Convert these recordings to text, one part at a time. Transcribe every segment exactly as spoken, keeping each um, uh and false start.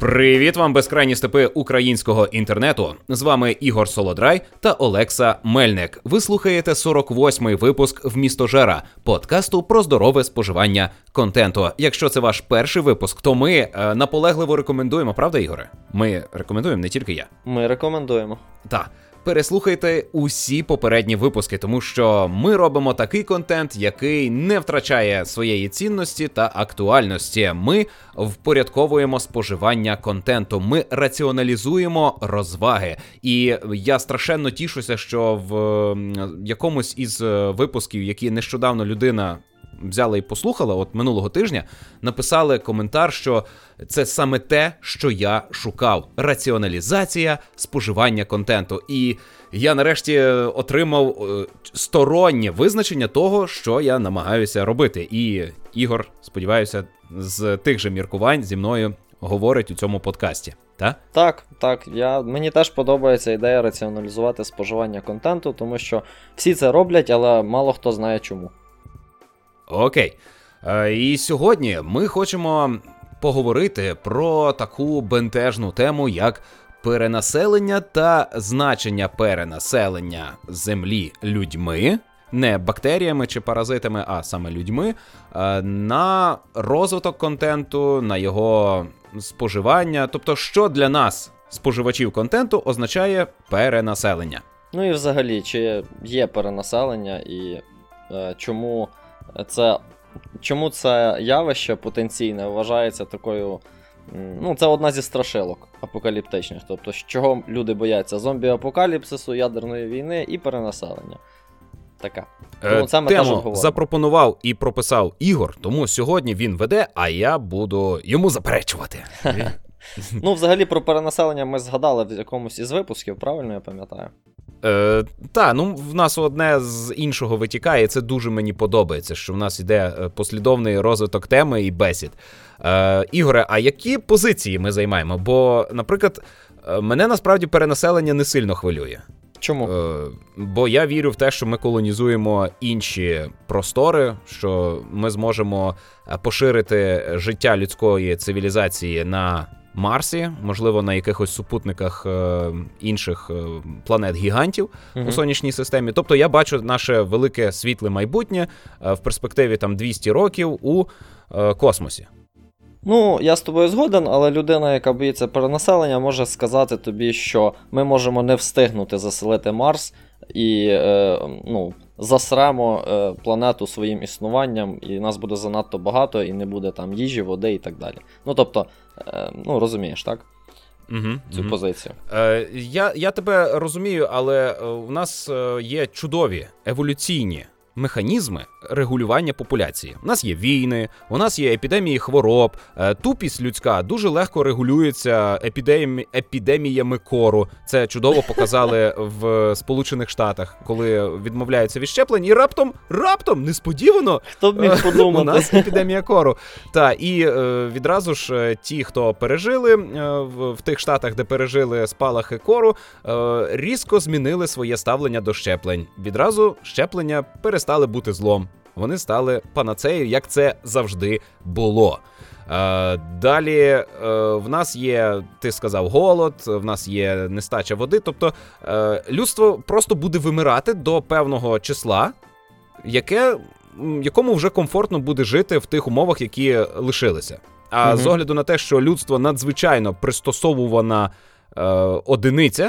Привіт вам, безкрайні степи українського інтернету. З вами Ігор Солодрай та Олекса Мельник. Ви слухаєте сорок восьмий випуск «Вмістожера» – подкасту про здорове споживання контенту. Якщо це ваш перший випуск, то ми е, наполегливо рекомендуємо, правда, Ігоре? Ми рекомендуємо, не тільки я. Ми рекомендуємо. Так. Переслухайте усі попередні випуски, тому що ми робимо такий контент, який не втрачає своєї цінності та актуальності. Ми впорядковуємо споживання контенту, ми раціоналізуємо розваги. І я страшенно тішуся, що в якомусь із випусків, які нещодавно людина взяла і послухала, от минулого тижня, написали коментар, що це саме те, що я шукав. Раціоналізація споживання контенту. І я нарешті отримав стороннє визначення того, що я намагаюся робити. І Ігор, сподіваюся, з тих же міркувань зі мною говорить у цьому подкасті. Так? Так, так. Я, мені теж подобається ідея раціоналізувати споживання контенту, тому що всі це роблять, але мало хто знає чому. Окей. І сьогодні ми хочемо поговорити про таку бентежну тему, як перенаселення та значення перенаселення землі людьми, не бактеріями чи паразитами, а саме людьми, на розвиток контенту, на його споживання. Тобто, що для нас, споживачів контенту, означає перенаселення. Ну і взагалі, чи є перенаселення і е, чому... Це, чому це явище потенційне вважається такою, ну це одна зі страшилок апокаліптичних, тобто чого люди бояться: зомбі-апокаліпсису, ядерної війни і перенаселення. Така. Тому це ми теж Тему обговоримо. запропонував і прописав Ігор, тому сьогодні він веде, а я буду йому заперечувати. Ну взагалі про перенаселення ми згадали в якомусь із випусків, правильно я пам'ятаю? Е, та, ну в нас одне з іншого витікає, і це дуже мені подобається, що в нас іде послідовний розвиток теми і бесід. Е, Ігоре, а які позиції ми займаємо? Бо, наприклад, мене насправді перенаселення не сильно хвилює. Чому? Е, бо я вірю в те, що ми колонізуємо інші простори, що ми зможемо поширити життя людської цивілізації на Марсі, можливо, на якихось супутниках е, інших е, планет-гігантів uh-huh. у сонячній системі. Тобто я бачу наше велике світле майбутнє е, в перспективі там двісті років у е, космосі. Ну, я з тобою згоден, але людина, яка боїться перенаселення, може сказати тобі, що ми можемо не встигнути заселити Марс і е, ну, засремо е, планету своїм існуванням, і нас буде занадто багато, і не буде там їжі, води і так далі. Ну, тобто, е, ну, розумієш, так? Угу, Цю угу. позицію. Е, я, я тебе розумію, але у нас є чудові еволюційні механізми регулювання популяції. У нас є війни, у нас є епідемії хвороб, тупість людська дуже легко регулюється епідемі... епідеміями кору. Це чудово показали в Сполучених Штатах, коли відмовляються від щеплень, і раптом, раптом, несподівано, хто б міг подумати? У нас епідемія кору. Та, і відразу ж ті, хто пережили в, в тих штатах, де пережили спалахи кору, різко змінили своє ставлення до щеплень. Відразу щеплення перестали бути злом. Вони стали панацеєю, як це завжди було. Е, далі е, в нас є, ти сказав, голод, в нас є нестача води. Тобто е, людство просто буде вимирати до певного числа, яке, якому вже комфортно буде жити в тих умовах, які лишилися. А угу. з огляду на те, що людство надзвичайно пристосовувана е, одиниця,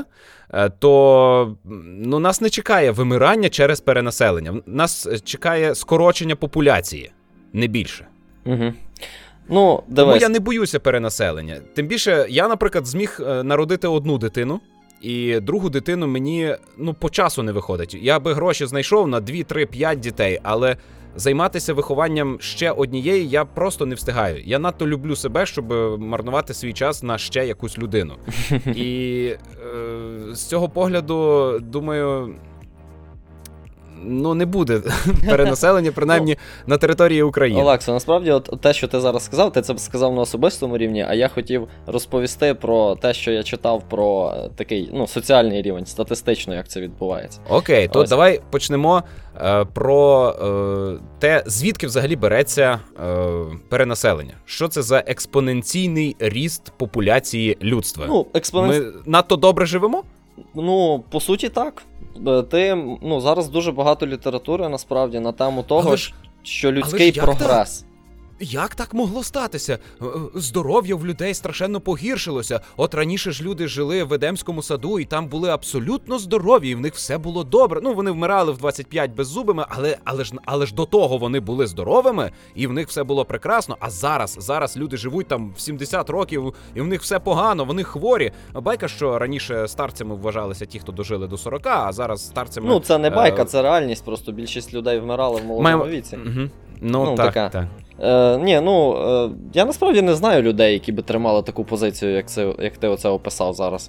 то ну, нас не чекає вимирання через перенаселення. Нас чекає скорочення популяції, не більше. Угу. Ну, Тому я не боюся перенаселення. Тим більше, я, наприклад, зміг народити одну дитину, і другу дитину мені ну, по часу не виходить. Я би гроші знайшов на дві, три, п'ять дітей, але займатися вихованням ще однієї я просто не встигаю. Я надто люблю себе, щоб марнувати свій час на ще якусь людину. І е, з цього погляду, думаю, ну, не буде перенаселення, принаймні, на території України. Олексо, насправді, от те, що ти зараз сказав, ти це сказав на особистому рівні, а я хотів розповісти про те, що я читав про такий, ну, соціальний рівень, статистично, як це відбувається. Окей, то Ось. давай почнемо е, про е, те, звідки взагалі береться е, перенаселення. Що це за експоненційний ріст популяції людства? Ну, експонен... Ми надто добре живемо? Ну, по суті, так. Ти, ну, зараз дуже багато літератури, насправді, на тему того, Але ж- що людський як прогрес. Як так могло статися? Е, е, Здоров'я в людей страшенно погіршилося. От раніше ж люди жили в Едемському саду, і там були абсолютно здорові, і в них все було добре. Ну, вони вмирали в двадцять п'ять беззубими, але, але, ж, але ж до того вони були здоровими, і в них все було прекрасно. А зараз, зараз люди живуть там в сімдесят років, і в них все погано, вони хворі. Байка, що раніше старцями вважалися ті, хто дожили до сорока, а зараз старцями... Ну, це не байка, е, це реальність, просто більшість людей вмирали в молодому маємо- віці. Мгм. Ну, Ну, так, така. так. Е, ні, ну, е, я насправді не знаю людей, які би тримали таку позицію, як, це, як ти оце описав зараз.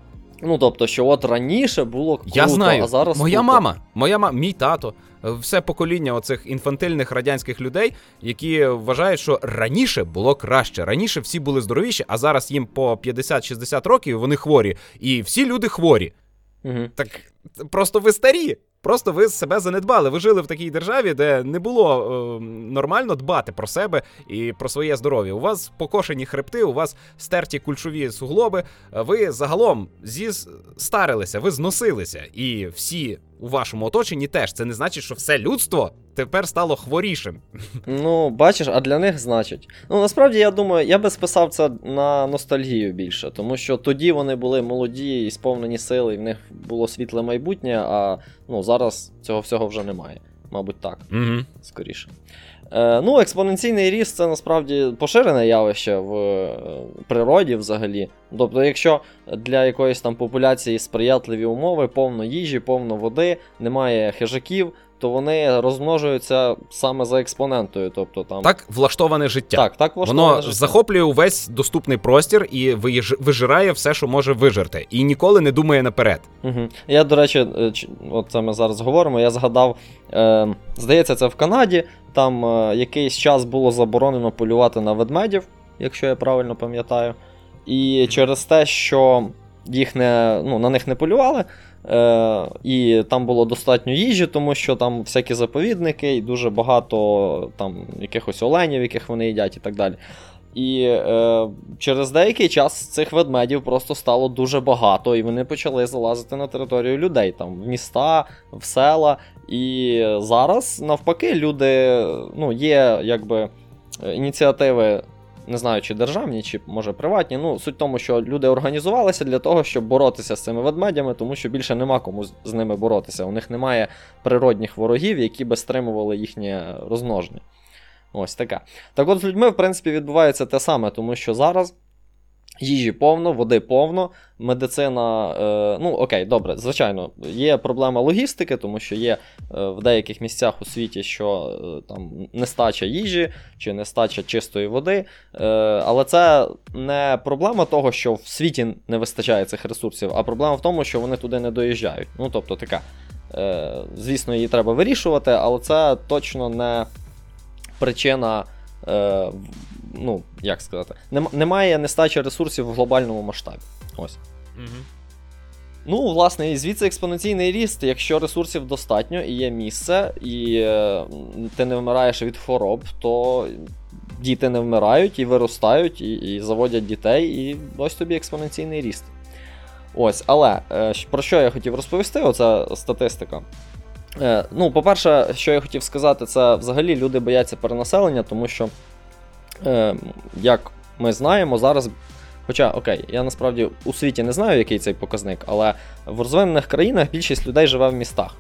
Ну, тобто, що от раніше було круто, Я знаю, а зараз моя тупо. мама, моя мама, мій тато, е, все покоління оцих інфантильних радянських людей, які вважають, що раніше було краще, раніше всі були здоровіші, а зараз їм по п'ятдесят-шістдесят років, і вони хворі, і всі люди хворі. Угу. Так просто ви старі. Просто ви себе занедбали. Ви жили в такій державі, де не було е, нормально дбати про себе і про своє здоров'я. У вас покошені хребти, у вас стерті кульшові суглоби. Ви загалом зістарилися, ви зносилися. І всі у вашому оточенні теж. Це не значить, що все людство тепер стало хворішим. Ну, бачиш, а для них значить. Ну, насправді, я думаю, я би списав це на ностальгію більше, тому що тоді вони були молоді і сповнені сили, і в них було світле майбутнє, а ну, зараз цього всього вже немає. Мабуть, так, Угу. скоріше. Е, ну, експоненційний ріст – це насправді поширене явище в е, природі взагалі. Тобто, якщо для якоїсь там популяції сприятливі умови, повно їжі, повно води, немає хижаків, то вони розмножуються саме за експонентою. Тобто, там... Так влаштоване життя. Так, так влаштоване Воно життя. захоплює увесь доступний простір і виїж- вижирає все, що може вижерти. І ніколи не думає наперед. Угу. Я, до речі, е, ч- от це ми зараз говоримо, я згадав, е, здається, це в Канаді, там е, якийсь час було заборонено полювати на ведмедів, якщо я правильно пам'ятаю. І через те, що їх не, ну, на них не полювали, е, і там було достатньо їжі, тому що там всякі заповідники, і дуже багато там якихось оленів, яких вони їдять і так далі. І е, через деякий час цих ведмедів просто стало дуже багато, і вони почали залазити на територію людей, там, в міста, в села. І зараз, навпаки, люди, ну, є, якби, ініціативи, не знаю, чи державні, чи, може, приватні, ну, суть в тому, що люди організувалися для того, щоб боротися з цими ведмедями, тому що більше нема кому з- з ними боротися. У них немає природних ворогів, які би стримували їхнє розмноження. Ось таке. Так от з людьми, в принципі, відбувається те саме, тому що зараз їжі повно, води повно, медицина, е, ну окей, добре, звичайно, є проблема логістики, тому що є е, в деяких місцях у світі, що е, там нестача їжі чи нестача чистої води, е, але це не проблема того, що в світі не вистачає цих ресурсів, а проблема в тому, що вони туди не доїжджають. Ну, тобто така, е, звісно, її треба вирішувати, але це точно не причина, е, ну, як сказати, нем- немає нестачі ресурсів в глобальному масштабі. Ось. Угу. Ну, власне, і звідси експоненційний ріст, якщо ресурсів достатньо і є місце, і е, ти не вмираєш від хвороб, то діти не вмирають і виростають, і, і заводять дітей, і ось тобі експоненційний ріст. Ось, але е, про що я хотів розповісти, оця статистика. Е, ну, по-перше, що я хотів сказати, це взагалі люди бояться перенаселення, тому що, е, як ми знаємо, зараз, хоча, окей, я насправді у світі не знаю, який цей показник, але в розвинених країнах більшість людей живе в містах.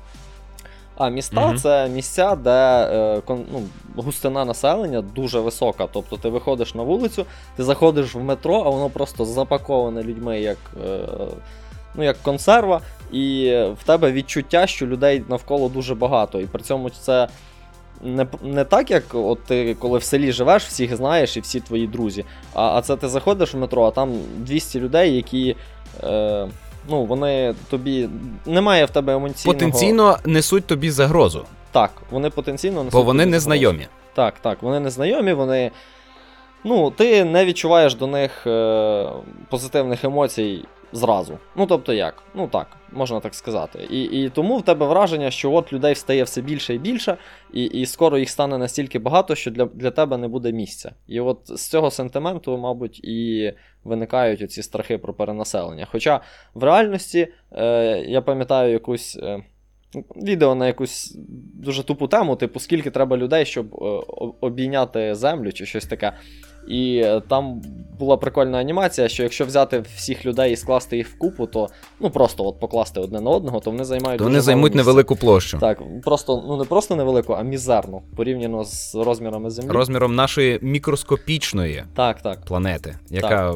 А міста Мгм. це місця, де е, кон, ну, густина населення дуже висока. Тобто ти виходиш на вулицю, ти заходиш в метро, а воно просто запаковане людьми як, е, ну, як консерва, і в тебе відчуття, що людей навколо дуже багато. І при цьому це не, не так, як от ти коли в селі живеш, всіх знаєш і всі твої друзі. А, а це ти заходиш в метро, а там двісті людей, які. Е, ну, вони тобі, немає в тебе емоційного... Потенційно несуть тобі загрозу. Так, вони потенційно несуть Бо вони тобі незнайомі. загрозу. Так, так, вони незнайомі, вони, ну, ти не відчуваєш до них е, позитивних емоцій зразу. Ну, тобто як? Ну так, можна так сказати. І, і тому в тебе враження, що от людей стає все більше і більше, і, і скоро їх стане настільки багато, що для, для тебе не буде місця. І от з цього сентименту, мабуть, і виникають оці страхи про перенаселення. Хоча в реальності, е, я пам'ятаю якусь... Е, відео на якусь дуже тупу тему, типу, скільки треба людей, щоб е, обійняти землю чи щось таке. І там була прикольна анімація, що якщо взяти всіх людей і скласти їх в купу, то, ну, просто от покласти одне на одного, то вони займають то дуже вони займуть місце. невелику площу. Так, просто, ну не просто невелику, а мізерну, порівняно з розмірами Землі. Розміром нашої мікроскопічної так, так. планети, яка... Так.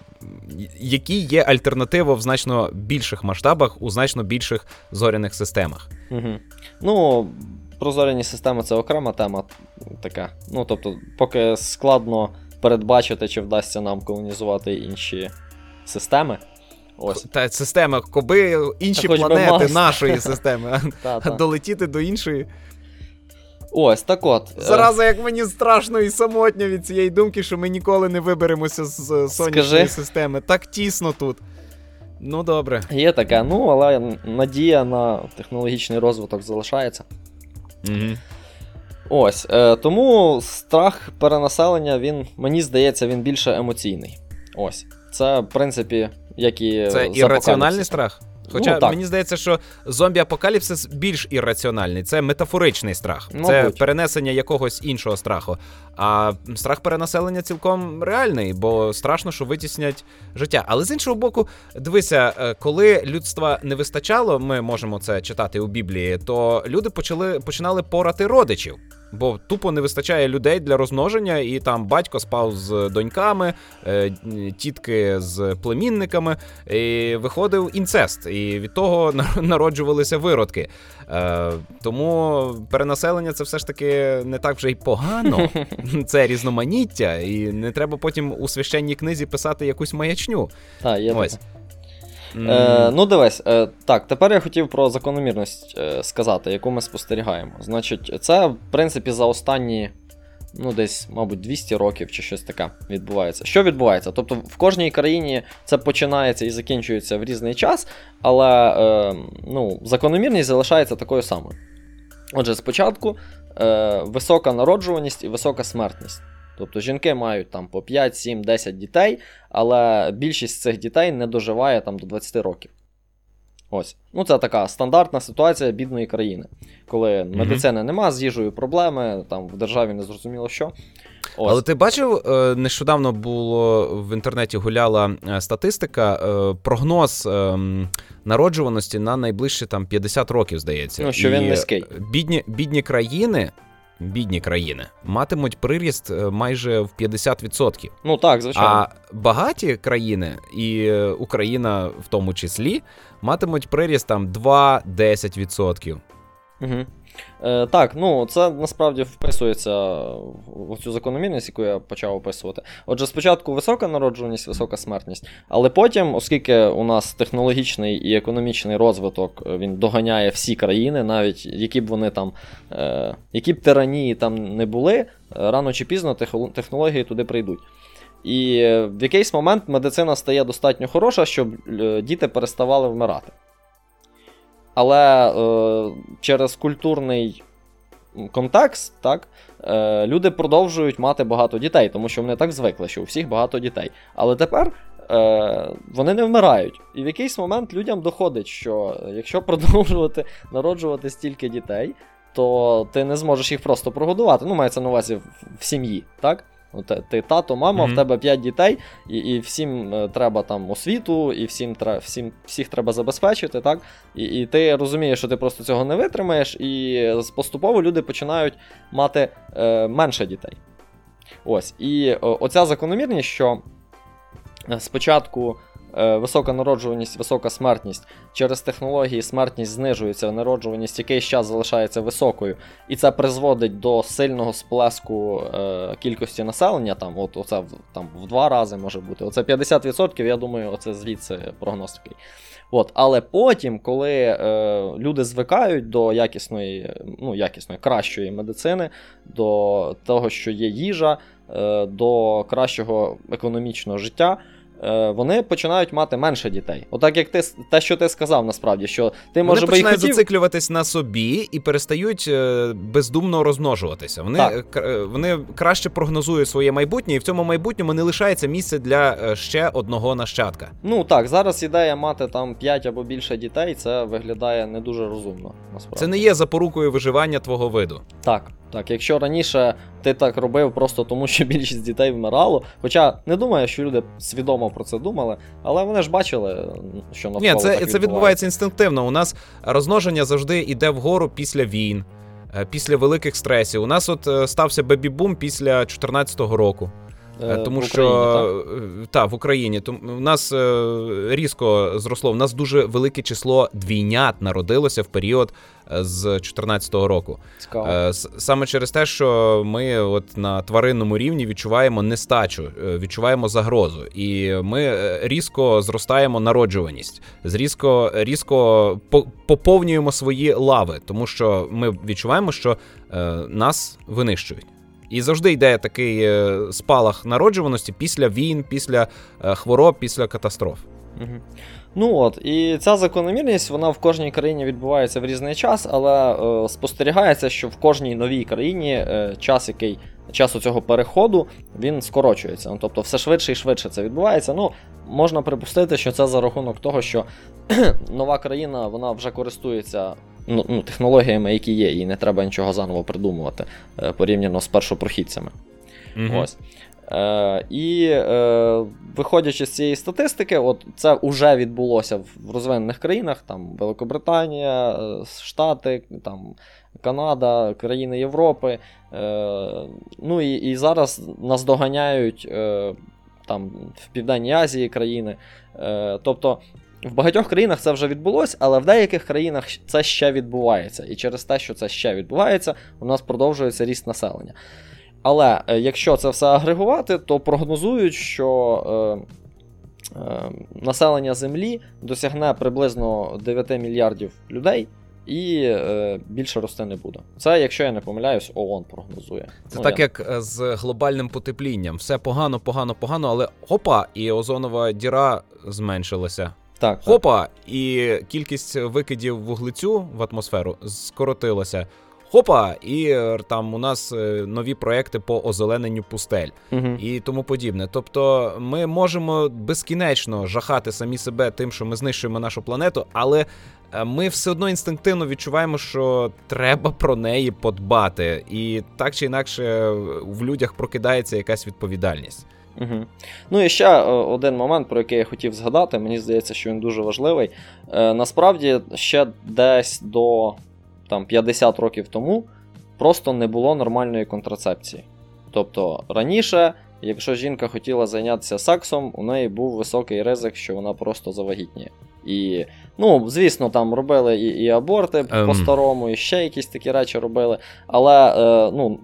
Які є альтернатива в значно більших масштабах, у значно більших зоряних системах. Угу. Ну, про зоряні системи це окрема тема така. Ну, тобто, поки складно передбачити, чи вдасться нам колонізувати інші системи. Ось. Та система, коби інші Та планети нашої системи, та, а та. долетіти до іншої. Ось, так от. Зараза, як мені страшно і самотньо від цієї думки, що ми ніколи не виберемося з сонячної Скажи. системи. Так тісно тут. Ну, добре. Є таке, ну, але надія на технологічний розвиток залишається. Угу. Ось, е, тому страх перенаселення, він, мені здається, він більше емоційний. Ось. Це, в принципі, як і Це ірраціональний страх? Хоча ну, мені здається, що зомбі-апокаліпсис більш ірраціональний. Це метафоричний страх. Мабуть. Це перенесення якогось іншого страху. А страх перенаселення цілком реальний, бо страшно, що витіснять життя. Але з іншого боку, дивися, коли людства не вистачало, ми можемо це читати у Біблії, то люди почали, починали порати родичів. Бо тупо не вистачає людей для розмноження, і там батько спав з доньками, тітки з племінниками, і виходив інцест, і від того народжувалися виродки. Тому перенаселення це все ж таки не так вже й погано, це різноманіття, і не треба потім у священній книзі писати якусь маячню. Так, є Ось. таке. Е, ну, дивись, е, так, тепер я хотів про закономірність е, сказати, яку ми спостерігаємо. Значить, це, в принципі, за останні, ну, десь, мабуть, двісті років чи щось таке відбувається. Що відбувається? Тобто, в кожній країні це починається і закінчується в різний час, але, е, ну, закономірність залишається такою самою. Отже, спочатку е, висока народжуваність і висока смертність. Тобто жінки мають там по п'ять, сім, десять дітей, але більшість цих дітей не доживає там до двадцяти років. Ось. Ну це така стандартна ситуація бідної країни. Коли mm-hmm. медицини нема, з їжею проблеми, там в державі не зрозуміло що. Ось. Але ти бачив, нещодавно було в інтернеті гуляла статистика, прогноз народжуваності на найближчі там п'ятдесят років, здається. Ну, що він І низький. Бідні, бідні країни... Бідні країни матимуть приріст майже в п'ятдесят відсотків. Ну так, звичайно. А багаті країни, і Україна в тому числі, матимуть приріст там два-десять відсотків. Угу. Е, так, ну це насправді вписується в цю закономірність, яку я почав описувати. Отже, спочатку висока народжуваність, висока смертність, але потім, оскільки у нас технологічний і економічний розвиток, він доганяє всі країни, навіть які б вони там, е, які б тиранії там не були, рано чи пізно технології туди прийдуть. І в якийсь момент медицина стає достатньо хороша, щоб діти переставали вмирати. Але е, через культурний контекст, так, е, люди продовжують мати багато дітей, тому що вони так звикли, що у всіх багато дітей. Але тепер е, вони не вмирають. І в якийсь момент людям доходить, що якщо продовжувати народжувати стільки дітей, то ти не зможеш їх просто прогодувати. Ну, мається на увазі в, в сім'ї, так? Ти тато, мама, mm-hmm. в тебе п'ять дітей, і, і всім е, треба там освіту, і всім, всім, всіх треба забезпечити, так? І, і ти розумієш, що ти просто цього не витримаєш, і поступово люди починають мати е, менше дітей. Ось. І о, оця закономірність, що спочатку е, висока народжуваність, висока смертність, через технології смертність знижується, народжуваність якийсь час залишається високою, і це призводить до сильного сплеску е, кількості населення, там, от, оце, там, в два рази може бути. Оце п'ятдесят відсотків, я думаю, оце звідси прогноз такий. От, але потім, коли е, люди звикають до якісної, ну, якісної, кращої медицини, до того, що є їжа, е, до кращого економічного життя, е, вони починають мати менше дітей. Отак, як ти, те, що ти сказав, насправді, що ти, може би, і починають хотів... зациклюватись на собі і перестають е, бездумно розмножуватися. Вони, е, вони краще прогнозують своє майбутнє, і в цьому майбутньому не лишається місця для е, ще одного нащадка. Ну так, зараз ідея мати там п'ять або більше дітей, це виглядає не дуже розумно, насправді. Це не є запорукою виживання твого виду. Так, так, якщо раніше ти так робив просто тому, що більшість дітей вмирало, хоча не думаю, що люди свідомо про це думали, але вони ж бачили, що навколо Ні, це, так це відбувається. відбувається інстинктивно. У нас розмноження завжди йде вгору після війн, після великих стресів. У нас от стався бебі-бум після чотирнадцятого року. Е, Тому в що Україні, так? та, в Україні тому у нас е, різко зросло. У нас дуже велике число двійнят народилося в період з чотирнадцятого року. Цікаво. Е, саме через те, що ми от на тваринному рівні відчуваємо нестачу, відчуваємо загрозу, і ми різко зростаємо народжуваність, різко, різко поповнюємо свої лави, тому що ми відчуваємо, що е, нас винищують. І завжди йде такий спалах народжуваності після війн, після хвороб, після катастроф. Угу. Ну от, і ця закономірність, вона в кожній країні відбувається в різний час, але е, спостерігається, що в кожній новій країні е, час, який, час цього переходу, він скорочується. Ну, тобто все швидше і швидше це відбувається. Ну, можна припустити, що це за рахунок того, що нова країна, вона вже користується ну, ну, технологіями, які є, і не треба нічого заново придумувати, е, порівняно з першопрохідцями. Mm-hmm. Ось. Е, і е, виходячи з цієї статистики, от це вже відбулося в розвинених країнах, там Великобританія, Штати, там Канада, країни Європи. Е, ну і, і зараз нас доганяють е, там в Південній Азії країни. Е, тобто в багатьох країнах це вже відбулося, але в деяких країнах це ще відбувається. І через те, що це ще відбувається, у нас продовжується ріст населення. Але е, якщо це все агрегувати, то прогнозують, що е, е, населення Землі досягне приблизно дев'ять мільярдів людей і е, більше рости не буде. Це, якщо я не помиляюсь, ООН прогнозує. Це ну, так, я... як з глобальним потеплінням. Все погано, погано, погано, але хопа, і озонова діра зменшилася. Так, хопа, так. І кількість викидів вуглецю в атмосферу скоротилася. Хопа, і там у нас нові проекти по озелененню пустель угу. і тому подібне. Тобто ми можемо безкінечно жахати самі себе тим, що ми знищуємо нашу планету, але ми все одно інстинктивно відчуваємо, що треба про неї подбати. І так чи інакше в людях прокидається якась відповідальність. Угу. Ну і ще один момент, про який я хотів згадати, мені здається, що він дуже важливий. Е, насправді, ще десь до там, п'ятдесят років тому просто не було нормальної контрацепції. Тобто раніше, якщо жінка хотіла зайнятися сексом, у неї був високий ризик, що вона просто завагітніє. І, ну, звісно, там робили і, і аборти um. по-старому, і ще якісь такі речі робили, але, е, ну,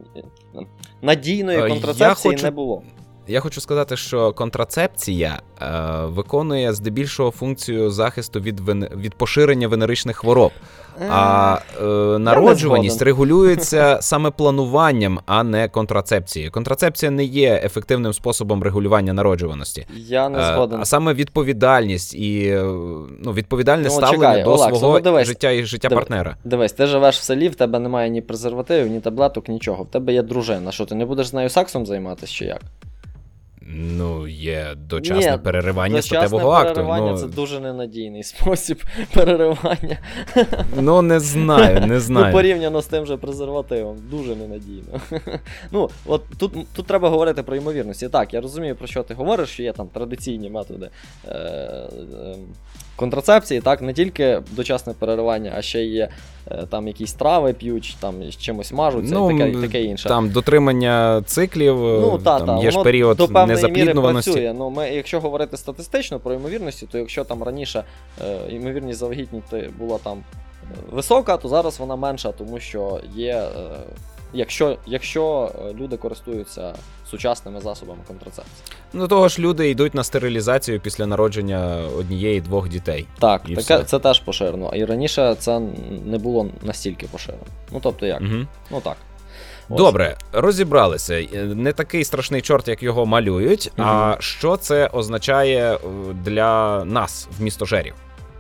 надійної контрацепції хочу... не було. Я хочу сказати, що контрацепція е, виконує здебільшого функцію захисту від, вен... від поширення венеричних хвороб. А е, народжуваність регулюється саме плануванням, а не контрацепцією. Контрацепція не є ефективним способом регулювання народжуваності. Я не згоден. Е, а саме відповідальність і ну, відповідальне ну, ставлення чекай, до Олексо, свого ну, життя і життя дивись, партнера. Дивись, ти живеш в селі, в тебе немає ні презервативів, ні таблеток, нічого. В тебе є дружина. Що, ти не будеш з нею сексом займатися чи як? Ну, є дочасне Ні, переривання дочасне статевого акту. переривання ну... це дуже ненадійний спосіб переривання. Ну, не знаю, не знаю. Ну, порівняно з тим же презервативом. Дуже ненадійно. Ну, от тут, тут треба говорити про ймовірності. Так, я розумію, про що ти говориш, що є там традиційні методи е- е- контрацепції, так, не тільки дочасне переривання, а ще є е- там якісь трави п'ють, там чимось мажуться ну, і таке, таке інше. Там дотримання циклів, ну, та, там та, є ж період незапліднуваності. Працює. Ну, ми, якщо говорити статистично про ймовірності, то якщо там раніше е, ймовірність завагітніти була там висока, то зараз вона менша, тому що є е, якщо, якщо люди користуються сучасними засобами контрацепції. Ну того ж люди йдуть на стерилізацію після народження однієї-двох дітей. Так, таке, це теж поширено. І раніше це не було настільки поширено. Ну тобто як? Угу. Ну так. Ось. Добре, розібралися. Не такий страшний чорт, як його малюють. Угу. А що це означає для нас в містожерів?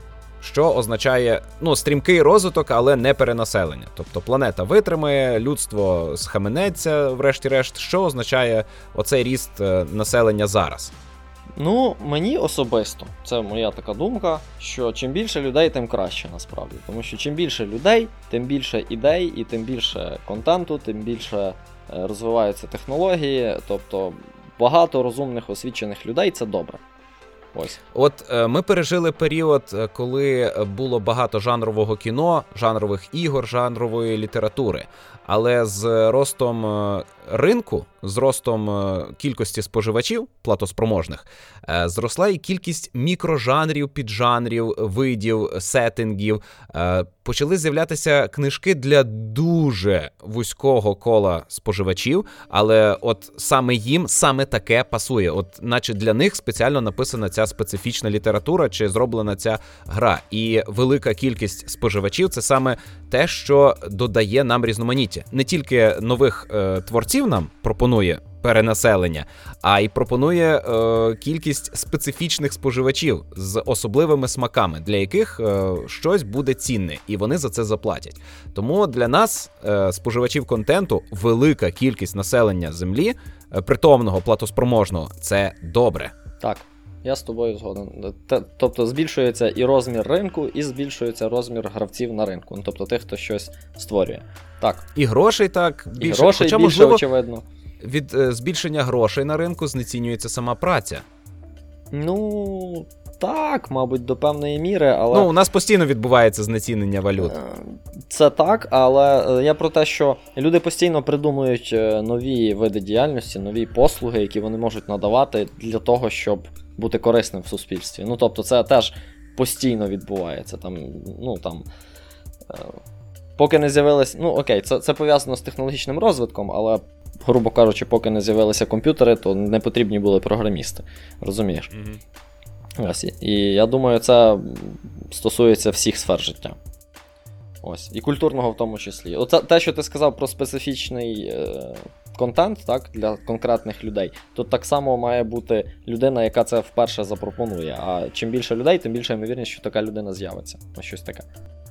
Що означає, ну, стрімкий розвиток, але не перенаселення. Тобто планета витримає, людство схаменеться, врешті-решт. Що означає оцей ріст населення зараз? Ну, мені особисто, це моя така думка, що чим більше людей, тим краще насправді. Тому що чим більше людей, тим більше ідей і тим більше контенту, тим більше розвиваються технології. Тобто багато розумних, освічених людей – це добре. Ось. От е, ми пережили період, коли було багато жанрового кіно, жанрових ігор, жанрової літератури. Але з ростом ринку, з ростом кількості споживачів платоспроможних, е, зросла і кількість мікрожанрів, піджанрів, видів, сеттингів. Е, почали з'являтися книжки для дуже вузького кола споживачів, але от саме їм саме таке пасує. От наче для них спеціально написана ця специфічна література чи зроблена ця гра. І велика кількість споживачів – це саме те, що додає нам різноманіття. Не тільки нових е, творців нам пропонує перенаселення, а й пропонує е, кількість специфічних споживачів з особливими смаками, для яких е, щось буде цінне, і вони за це заплатять. Тому для нас, е, споживачів контенту, велика кількість населення Землі, е, притомного, платоспроможного, це добре. Так. Я з тобою згоден. Тобто збільшується і розмір ринку, і збільшується розмір гравців на ринку. Ну, тобто тих, хто щось створює. Так. І грошей так більше. І грошей Хоча, більше, можливо, очевидно. Від е, збільшення грошей на ринку знецінюється сама праця. Ну, так, мабуть, до певної міри, але... Ну, у нас постійно відбувається знецінення валют. Це так, але я про те, що люди постійно придумують нові види діяльності, нові послуги, які вони можуть надавати для того, щоб бути корисним в суспільстві. Ну, тобто, це теж постійно відбувається. Там, ну, там, поки не з'явились... Ну, окей, це, це пов'язано з технологічним розвитком, але, грубо кажучи, поки не з'явилися комп'ютери, то не потрібні були програмісти. Розумієш? Mm-hmm. Ось. І я думаю, це стосується всіх сфер життя. Ось. І культурного в тому числі. Оце те, що ти сказав про специфічний е, контент, так, для конкретних людей, то так само має бути людина, яка це вперше запропонує. А чим більше людей, тим більше ймовірність, що така людина з'явиться. Ось щось таке.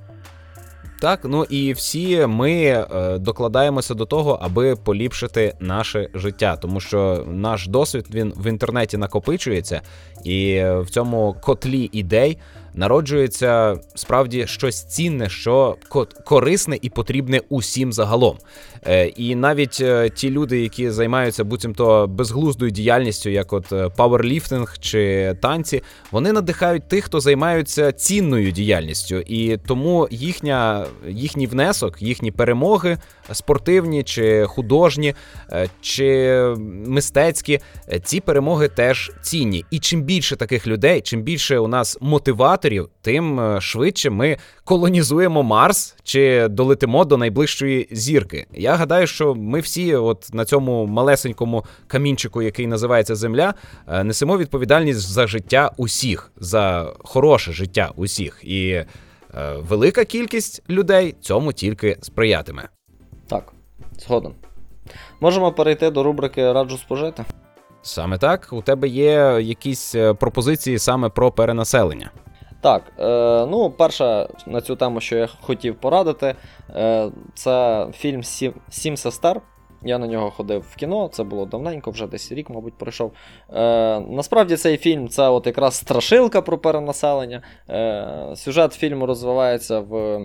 Так, ну і всі ми е, докладаємося до того, аби поліпшити наше життя, тому що наш досвід, він в інтернеті накопичується, і в цьому котлі ідей народжується справді щось цінне, що корисне і потрібне усім загалом. Е, і навіть е, ті люди, які займаються буцімто безглуздою діяльністю, як от пауерліфтинг чи танці, вони надихають тих, хто займаються цінною діяльністю, і тому їхня, їхній внесок, їхні перемоги спортивні чи художні, е, чи мистецькі, е, ці перемоги теж цінні. І чим більше таких людей, чим більше у нас мотиваторів, тим швидше ми колонізуємо Марс чи долетимо до найближчої зірки. Я гадаю, що ми всі от на цьому малесенькому камінчику, який називається Земля, несемо відповідальність за життя усіх, за хороше життя усіх. І е, велика кількість людей цьому тільки сприятиме. Так, згоден. Можемо перейти до рубрики «Раджу спожити». Саме так. У тебе є якісь пропозиції саме про перенаселення? Так, е, ну, перше на цю тему, що я хотів порадити, е, це фільм «Сім, «Сім сестер». Я на нього ходив в кіно, це було давненько, вже десь рік, мабуть, пройшов. Е, насправді цей фільм – це от якраз страшилка про перенаселення. Е, сюжет фільму розвивається в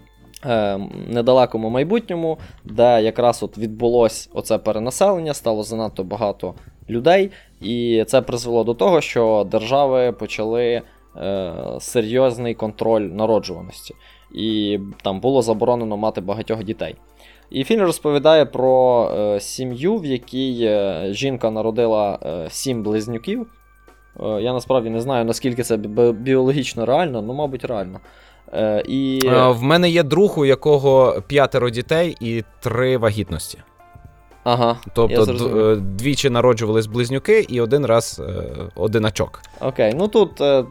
е, недалекому майбутньому, де якраз от відбулось оце перенаселення, стало занадто багато людей, і це призвело до того, що держави почали е, серйозний контроль народжуваності. І там було заборонено мати багатьох дітей. І фільм розповідає про е, сім'ю, в якій е, жінка народила е, сім близнюків. Е, я насправді не знаю, наскільки це бі- біологічно реально, ну, мабуть, реально. Е, і... А, в мене є друг, у якого п'ятеро дітей і три вагітності. Ага, тобто д- двічі народжувались близнюки і один раз е, одиначок. Окей, ну тут е,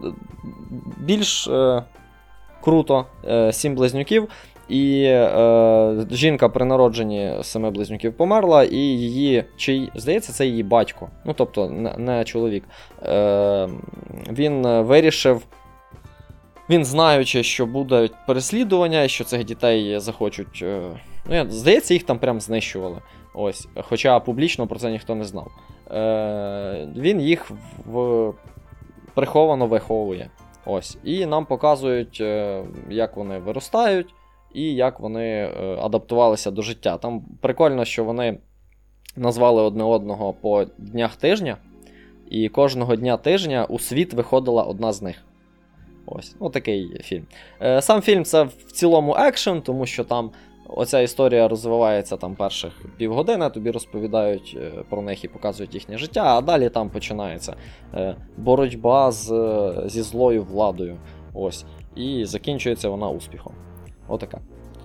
більш е, круто, е, сім близнюків, і е, жінка при народженні семи близнюків померла, і її, чи, здається, це її батько, ну тобто не, не чоловік, е, він вирішив, він знаючи, що буде переслідування, і що цих дітей захочуть, е, ну, здається, їх там прям знищували. Ось, хоча публічно про це ніхто не знав. Е, Він їх в... приховано виховує. Ось. І нам показують, е, як вони виростають і як вони е, адаптувалися до життя. Там прикольно, що вони назвали одне одного по днях тижня, і кожного дня тижня у світ виходила одна з них. Ось, ну такий фільм. Е, Сам фільм це в цілому екшен, тому що там оця історія розвивається там перших півгодини, тобі розповідають про них і показують їхнє життя, а далі там починається е, боротьба з, зі злою владою. Ось. І закінчується вона успіхом. Отака.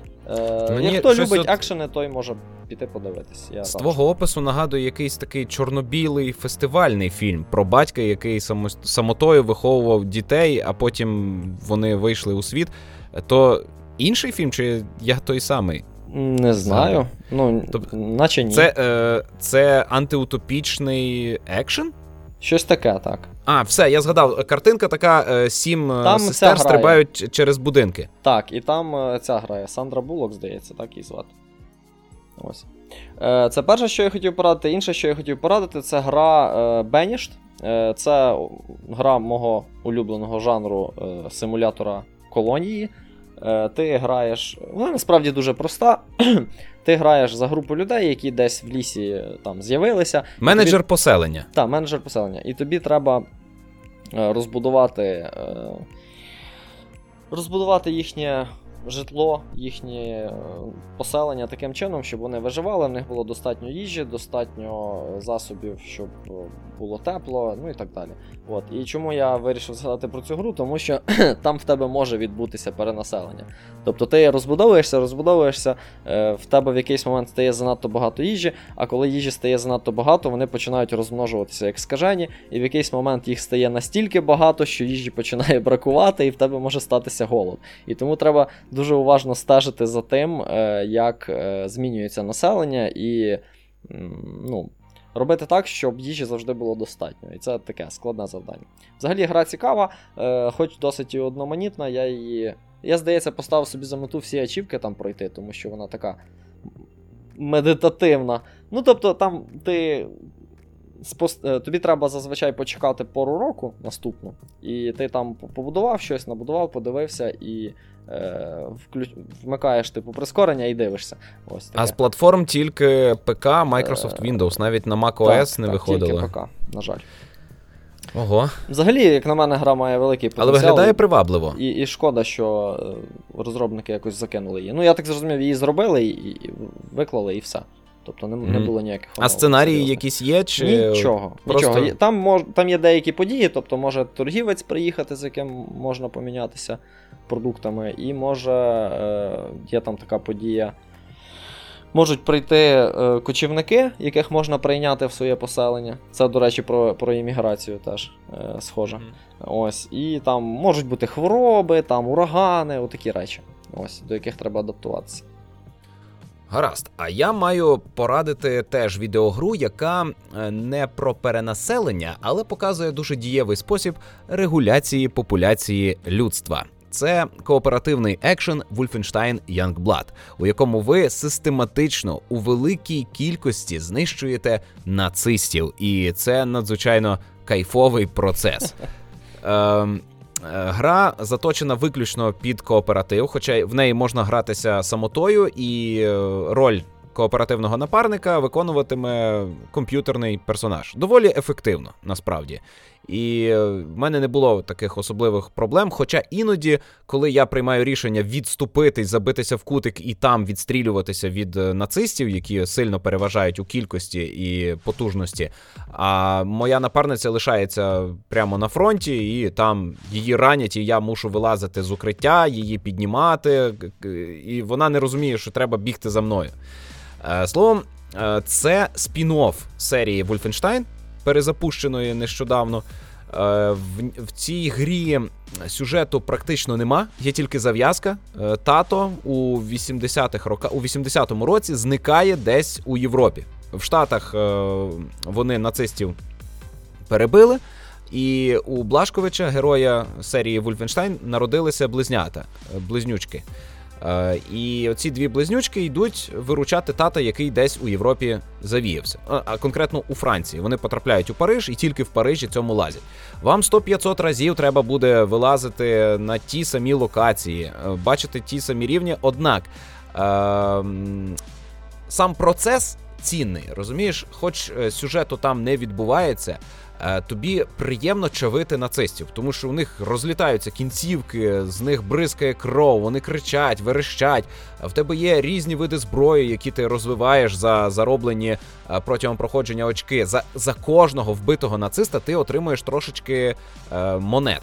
Е, Як хто любить от... екшени, той може піти подивитись. Я з твого опису нагадує якийсь такий чорно-білий фестивальний фільм про батька, який само... самотою виховував дітей, а потім вони вийшли у світ. То інший фільм, чи я той самий? Не знаю. Ну, тобто, наче ні. Це, е, це антиутопічний екшен? Щось таке, так. А, все, я згадав. Картинка така, е, сім там сестер стрибають через будинки. Так, і там е, ця грає. Сандра Буллок, здається, так її звати. Ось. Е, це перше, що я хотів порадити. Інше, що я хотів порадити, це гра е, Banished. Е, це гра мого улюбленого жанру е, симулятора колонії. Ти граєш, вона насправді дуже проста. Ти граєш за групу людей, які десь в лісі там з'явилися. Менеджер тобі... поселення. Так, менеджер поселення. І тобі треба розбудувати розбудувати їхнє житло, їхнє поселення таким чином, щоб вони виживали, в них було достатньо їжі, достатньо засобів, щоб було тепло, ну і так далі. От. І чому я вирішив згадати про цю гру? Тому що там в тебе може відбутися перенаселення. Тобто ти розбудовуєшся, розбудовуєшся, в тебе в якийсь момент стає занадто багато їжі, а коли їжі стає занадто багато, вони починають розмножуватися як скажені, і в якийсь момент їх стає настільки багато, що їжі починає бракувати, і в тебе може статися голод. І тому треба дуже уважно стежити за тим, як змінюється населення, і ну, робити так, щоб їжі завжди було достатньо. І це таке складне завдання. Взагалі гра цікава, хоч досить і одноманітна, я її... Я, здається, поставив собі за мету всі ачівки там пройти, тому що вона така медитативна. Ну, тобто, там ти... Тобі треба зазвичай почекати пору року наступну, і ти там побудував щось, набудував, подивився і е, вклю... вмикаєш типу прискорення і дивишся. Ось таке. А з платформ тільки ПК, Microsoft Windows, навіть на macOS так, не так, виходило. Тільки ПК, на жаль. Ого. Взагалі, як на мене, гра має великий потенціал. Але виглядає привабливо. І, і шкода, що розробники якось закинули її. Ну, я так зрозумів, її зробили, і, і виклали, і все. Тобто не, mm. не було ніяких... А сценарії серйозно. Якісь є? Чи... Нічого. Просто... нічого. Там, мож, там є деякі події, тобто може торгівець приїхати, з яким можна помінятися продуктами, і може е, є там така подія. Можуть прийти е, кочівники, яких можна прийняти в своє поселення. Це, до речі, про, про імміграцію теж е, схоже. Mm. Ось. І там можуть бути хвороби, там урагани, отакі речі, ось, до яких треба адаптуватися. Гаразд, а я маю порадити теж відеогру, яка не про перенаселення, але показує дуже дієвий спосіб регуляції популяції людства. Це кооперативний екшен Wolfenstein Youngblood, у якому ви систематично у великій кількості знищуєте нацистів. І це надзвичайно кайфовий процес. Ем... Гра заточена виключно під кооператив, хоча в неї можна гратися самотою, і роль кооперативного напарника виконуватиме комп'ютерний персонаж. Доволі ефективно, насправді. І в мене не було таких особливих проблем, хоча іноді, коли я приймаю рішення відступити, забитися в кутик і там відстрілюватися від нацистів, які сильно переважають у кількості і потужності, а моя напарниця лишається прямо на фронті, і там її ранять, і я мушу вилазити з укриття, її піднімати, і вона не розуміє, що треба бігти за мною. Словом, це спін-офф серії Wolfenstein, перезапущеної нещодавно. В, в цій грі сюжету практично нема, є тільки зав'язка. Тато у вісімдесятих роках, у вісімдесятому році зникає десь у Європі. В Штатах вони нацистів перебили, і у Блашковича, героя серії Wolfenstein, народилися близнята, близнючки. І оці дві близнючки йдуть виручати тата, який десь у Європі завіявся. А конкретно у Франції. Вони потрапляють у Париж і тільки в Парижі цьому лазять. Вам сто-п'ятсот разів треба буде вилазити на ті самі локації, бачити ті самі рівні. Однак е- сам процес цінний, розумієш? Хоч сюжету там не відбувається, тобі приємно чавити нацистів, тому що у них розлітаються кінцівки, з них бризкає кров, вони кричать, верещать. В тебе є різні види зброї, які ти розвиваєш за зароблені протягом проходження очки. За, за кожного вбитого нациста ти отримуєш трошечки е, монет.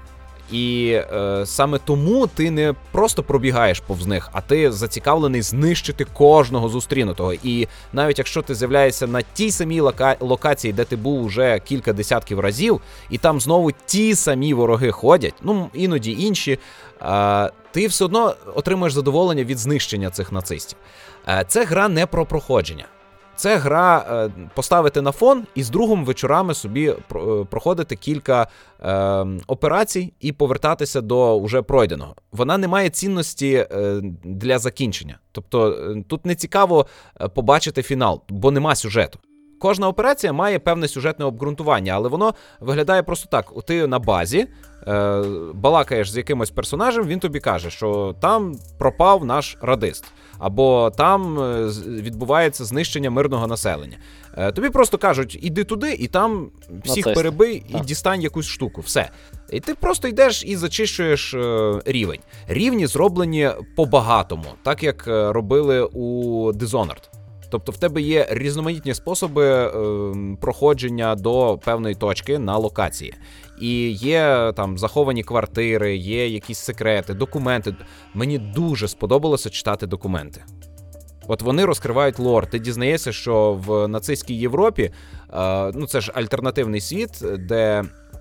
І е, саме тому ти не просто пробігаєш повз них, а ти зацікавлений знищити кожного зустрінутого. І навіть якщо ти з'являєшся на тій самій лока- локації, де ти був уже кілька десятків разів, і там знову ті самі вороги ходять, ну іноді інші, е, ти все одно отримуєш задоволення від знищення цих нацистів. Е, це гра не про проходження. Це гра е, поставити на фон і з другом вечорами собі про, проходити кілька е, операцій і повертатися до уже пройденого. Вона не має цінності е, для закінчення. Тобто е, тут не цікаво побачити фінал, бо нема сюжету. Кожна операція має певне сюжетне обґрунтування, але воно виглядає просто так. Ти на базі е, балакаєш з якимось персонажем, він тобі каже, що там пропав наш радист. Або там відбувається знищення мирного населення. Е, тобі просто кажуть, іди туди, і там всіх Нацисти. перебий, і так. дістань якусь штуку. Все. І ти просто йдеш і зачищуєш е, рівень. Рівні зроблені по-багатому, так як робили у Dishonored. Тобто в тебе є різноманітні способи е, проходження до певної точки на локації. І є там заховані квартири, є якісь секрети, документи. Мені дуже сподобалося читати документи. От вони розкривають лор. Ти дізнаєшся, що в нацистській Європі, е, ну це ж альтернативний світ, де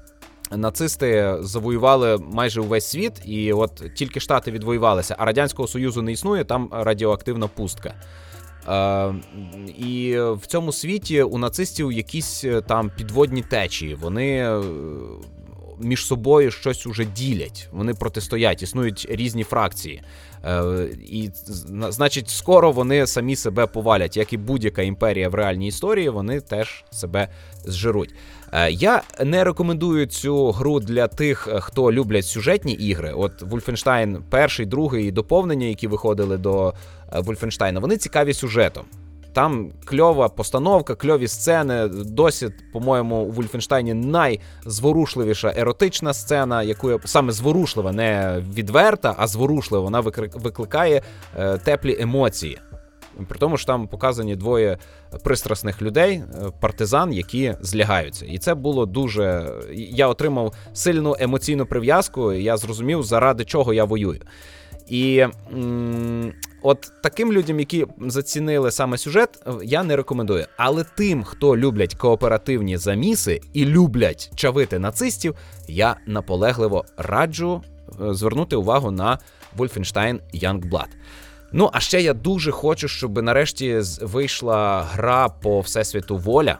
нацисти завоювали майже увесь світ, і от тільки Штати відвоювалися, а Радянського Союзу не існує, там радіоактивна пустка. Uh, і в цьому світі у нацистів якісь там підводні течії, вони між собою щось уже ділять, вони протистоять, існують різні фракції. Uh, і, значить, скоро вони самі себе повалять, як і будь-яка імперія в реальній історії, вони теж себе зжируть. Uh, я не рекомендую цю гру для тих, хто люблять сюжетні ігри. От Wolfenstein перший, другий і доповнення, які виходили до Wolfenstein, вони цікаві сюжетом. Там кльова постановка, кльові сцени. Досі, по-моєму, у Wolfenstein найзворушливіша еротична сцена, яку я... саме зворушлива, не відверта, а зворушлива. Вона викликає е, теплі емоції. При тому, що там показані двоє пристрасних людей, партизан, які злягаються. І це було дуже... Я отримав сильну емоційну прив'язку, і я зрозумів, заради чого я воюю. І м- от таким людям, які зацінили саме сюжет, я не рекомендую. Але тим, хто люблять кооперативні заміси і люблять чавити нацистів, я наполегливо раджу звернути увагу на Wolfenstein Youngblood. Ну, а ще я дуже хочу, щоб нарешті вийшла гра по Всесвіту Воля.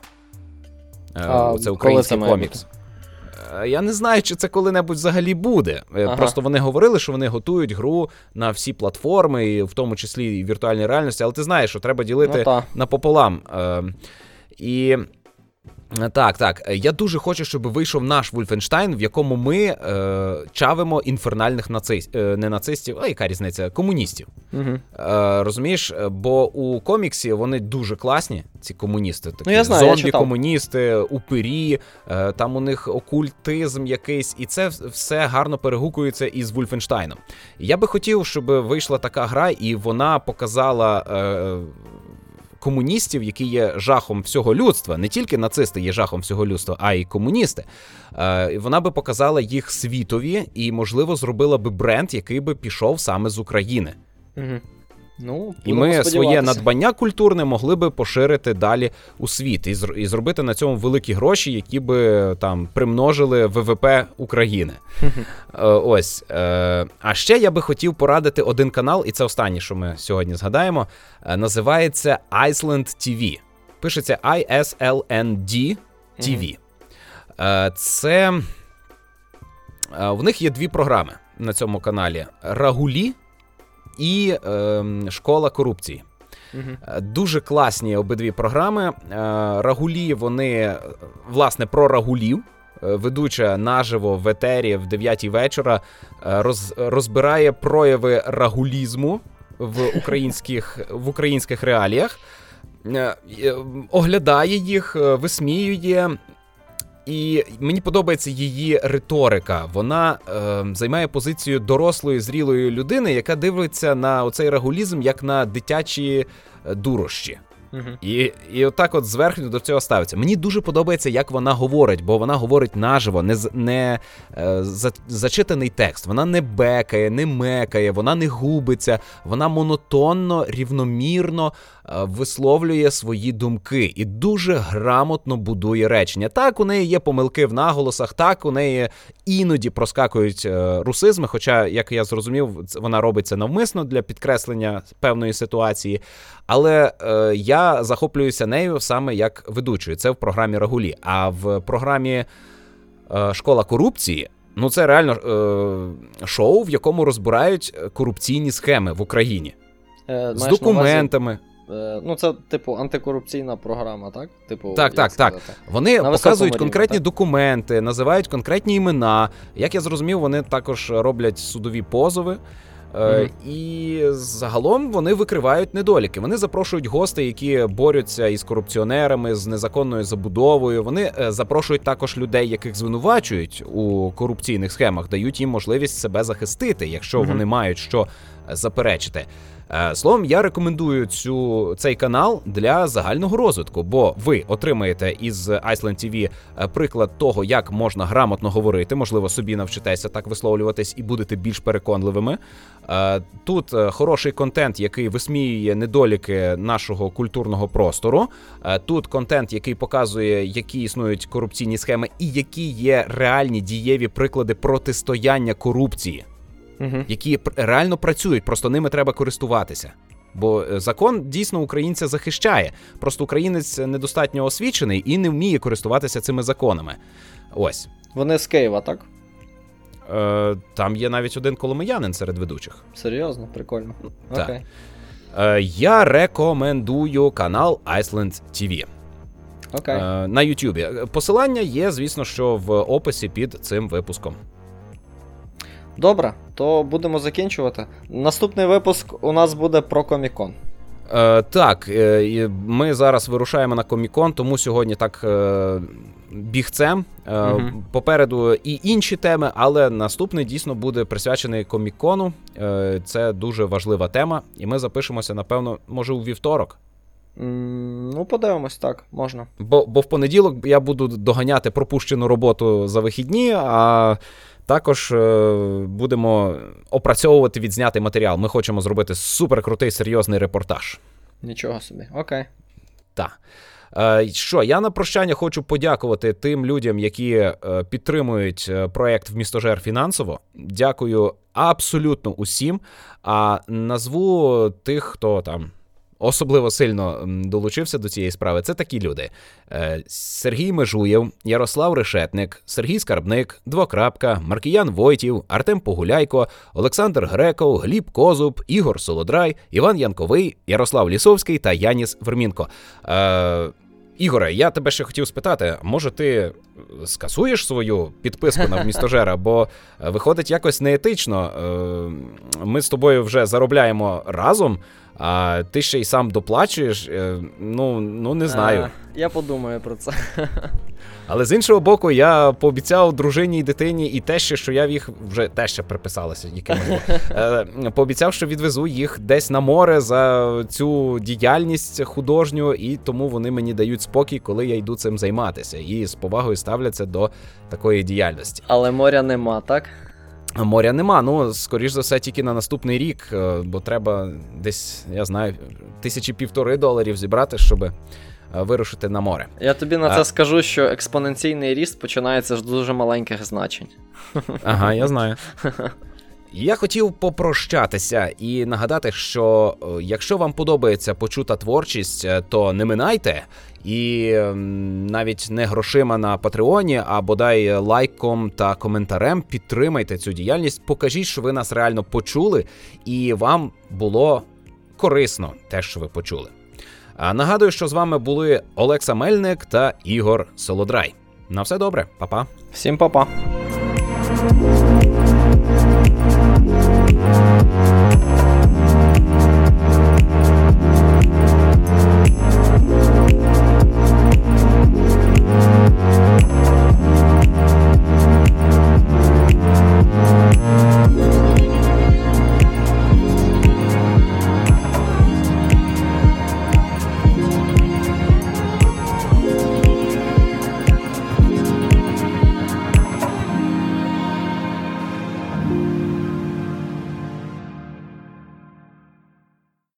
А, це український це комікс. Я не знаю, чи це коли-небудь взагалі буде. Ага. Просто вони говорили, що вони готують гру на всі платформи, і в тому числі і віртуальній реальності, але ти знаєш, що треба ділити ну, напополам. Е, і Так, так. Я дуже хочу, щоб вийшов наш Wolfenstein, в якому ми е, чавимо інфернальних нацистів, е, не нацистів, а яка різниця, комуністів. Угу. Е, розумієш, бо у коміксі вони дуже класні, ці комуністи. Такі ну, я знаю, зомбі-комуністи, упирі, е, там у них окультизм якийсь, і це все гарно перегукується із Wolfenstein'ом. Я би хотів, щоб вийшла така гра, і вона показала... Е, комуністів, які є жахом всього людства, не тільки нацисти є жахом всього людства, а й комуністи. Е, вона би показала їх світові і, можливо, зробила би бренд, який би пішов саме з України. Угу. Ну, і ми своє надбання культурне могли би поширити далі у світ і, зр- і зробити на цьому великі гроші, які би там примножили ВВП України. Е, ось. Е, а ще я би хотів порадити один канал, і це останнє, що ми сьогодні згадаємо, е, називається Iceland ті ві. Пишеться ай ес ел ен ді ті ві. Е, це... Е, в них є дві програми на цьому каналі. Рагулі і е, Школа корупції. Uh-huh. Дуже класні обидві програми. Е, Рагулі, вони, власне, про рагулів. Ведуча наживо в етері в дев'ятій вечора роз, розбирає прояви рагулізму в українських, в українських реаліях, е, оглядає їх, висміює. І мені подобається її риторика. Вона е, займає позицію дорослої, зрілої людини, яка дивиться на оцей рагулізм як на дитячі дурощі. Uh-huh. І, і отак от зверхньо до цього ставиться. Мені дуже подобається, як вона говорить, бо вона говорить наживо, не, не е, за, зачитаний текст. Вона не бекає, не мекає, вона не губиться, вона монотонно, рівномірно е, висловлює свої думки і дуже грамотно будує речення. Так, у неї є помилки в наголосах, так, у неї іноді проскакують е, русизми, хоча, як я зрозумів, вона робить це навмисно для підкреслення певної ситуації. Але е, я захоплююся нею саме як ведучою. Це в програмі Рагулі. А в програмі е, Школа корупції, ну це реально е, шоу, в якому розбирають корупційні схеми в Україні. Е, з документами. Е, ну це, типу, антикорупційна програма, так? Типу, так, так, сказати? так. Вони на показують конкретні рівні, документи, називають конкретні імена. Як я зрозумів, вони також роблять судові позови. Mm-hmm. І загалом вони викривають недоліки. Вони запрошують гостей, які борються із корупціонерами, з незаконною забудовою. Вони запрошують також людей, яких звинувачують у корупційних схемах, дають їм можливість себе захистити, якщо mm-hmm. вони мають що заперечити. Словом, я рекомендую цю, цей канал для загального розвитку, бо ви отримаєте із Iceland ті ві приклад того, як можна грамотно говорити, можливо, собі навчитеся так висловлюватись і будете більш переконливими. Тут хороший контент, який висміює недоліки нашого культурного простору. Тут контент, який показує, які існують корупційні схеми і які є реальні дієві приклади протистояння корупції. Угу. Які реально працюють, просто ними треба користуватися. Бо закон дійсно українця захищає. Просто українець недостатньо освічений і не вміє користуватися цими законами. Ось. Вони з Києва, так? Е, там є навіть один коломиянин серед ведучих. Серйозно? Прикольно. Так. Окей. Е, я рекомендую канал Iceland ті ві. Окей. Е, на Ютубі. Посилання є, звісно, що в описі під цим випуском. Добре, то будемо закінчувати. Наступний випуск у нас буде про Комік-кон. Е, так, е, ми зараз вирушаємо на Комік-кон, тому сьогодні так е, бігцем. Е, угу. Попереду і інші теми, але наступний дійсно буде присвячений Комік-кону. Е, це дуже важлива тема, і ми запишемося, напевно, може у вівторок. Mm, ну, подивимось, так, можна. Бо, бо в понеділок я буду доганяти пропущену роботу за вихідні, а також е, будемо опрацьовувати відзнятий матеріал. Ми хочемо зробити суперкрутий, серйозний репортаж. Нічого собі, окей. Так. Е, що, я на прощання хочу подякувати тим людям, які е, підтримують проєкт «Вмістожер» фінансово. Дякую абсолютно усім. А назву тих, хто там особливо сильно долучився до цієї справи, це такі люди. Сергій Межуєв, Ярослав Решетник, Сергій Скарбник, Двокрапка, Маркіян Войтів, Артем Погуляйко, Олександр Греков, Гліб Козуб, Ігор Солодрай, Іван Янковий, Ярослав Лісовський та Яніс Вермінко. Ігоре, я тебе ще хотів спитати, може ти скасуєш свою підписку на Вмістожера, бо виходить якось неетично. Ми з тобою вже заробляємо разом, а ти ще й сам доплачуєш, ну, ну не знаю. А, я подумаю про це. Але з іншого боку, я пообіцяв дружині і дитині і те, що я в їх вже те ще приписалося, якимось. Е, пообіцяв, що відвезу їх десь на море за цю діяльність художню, і тому вони мені дають спокій, коли я йду цим займатися. І з повагою ставляться до такої діяльності. Але моря нема, так? Моря нема, ну, скоріш за все, тільки на наступний рік, бо треба десь, я знаю, тисячі півтори доларів зібрати, щоб вирушити на море. Я тобі на а... це скажу, що експоненційний ріст починається з дуже маленьких значень. Ага, я знаю. Я хотів попрощатися і нагадати, що якщо вам подобається почута творчість, то не минайте. І навіть не грошима на Патреоні, а бодай лайком та коментарем підтримайте цю діяльність, покажіть, що ви нас реально почули і вам було корисно те, що ви почули. А нагадую, що з вами були Олекса Мельник та Ігор Солодрай. На все добре, па-па. Всім па-па.